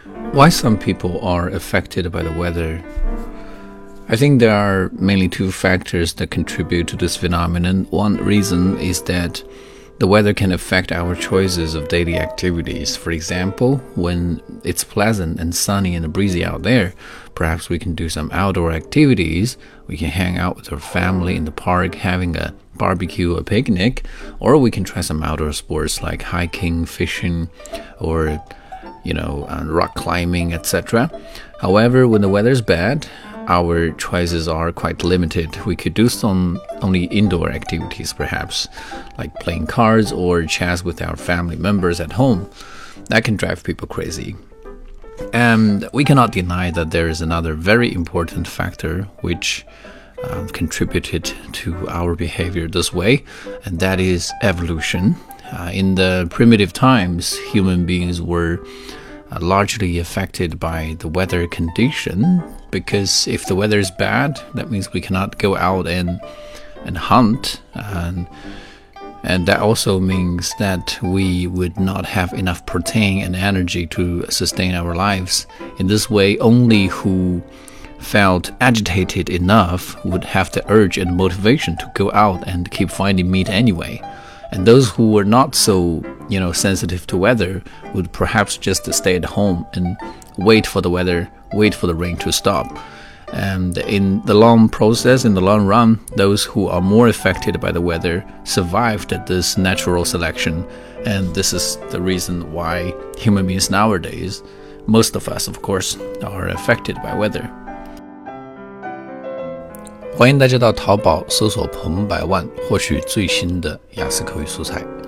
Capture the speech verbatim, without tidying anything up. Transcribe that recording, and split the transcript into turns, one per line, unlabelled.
Why some people are affected by the weather? I think there are mainly two factors that contribute to this phenomenon. One reason is that the weather can affect our choices of daily activities. For example, when it's pleasant and sunny and breezy out there, perhaps we can do some outdoor activities. We can hang out with our family in the park, having a barbecue or picnic, or we can try some outdoor sports like hiking, fishing, or you know, uh, rock climbing, et cetera. However, when the weather is bad, our choices are quite limited. We could do some only indoor activities, perhaps, like playing cards or chess with our family members at home. That can drive people crazy. And we cannot deny that there is another very important factor which uh, contributed to our behavior this way, and that is evolution. Uh, in the primitive times, human beings were uh, largely affected by the weather condition, because if the weather is bad, that means we cannot go out and and hunt, and and that also means that we would not have enough protein and energy to sustain our lives. In this way, only who felt agitated enough would have the urge and motivation to go out and keep finding meat anyway. And those who were not so, you know, sensitive to weather would perhaps just stay at home and wait for the weather, wait for the rain to stop. And in the long process, in the long run, those who are more affected by the weather survived this natural selection. And this is the reason why human beings nowadays, most of us, of course, are affected by weather.
欢迎大家到淘宝搜索彭百万获取最新的雅思口语素材。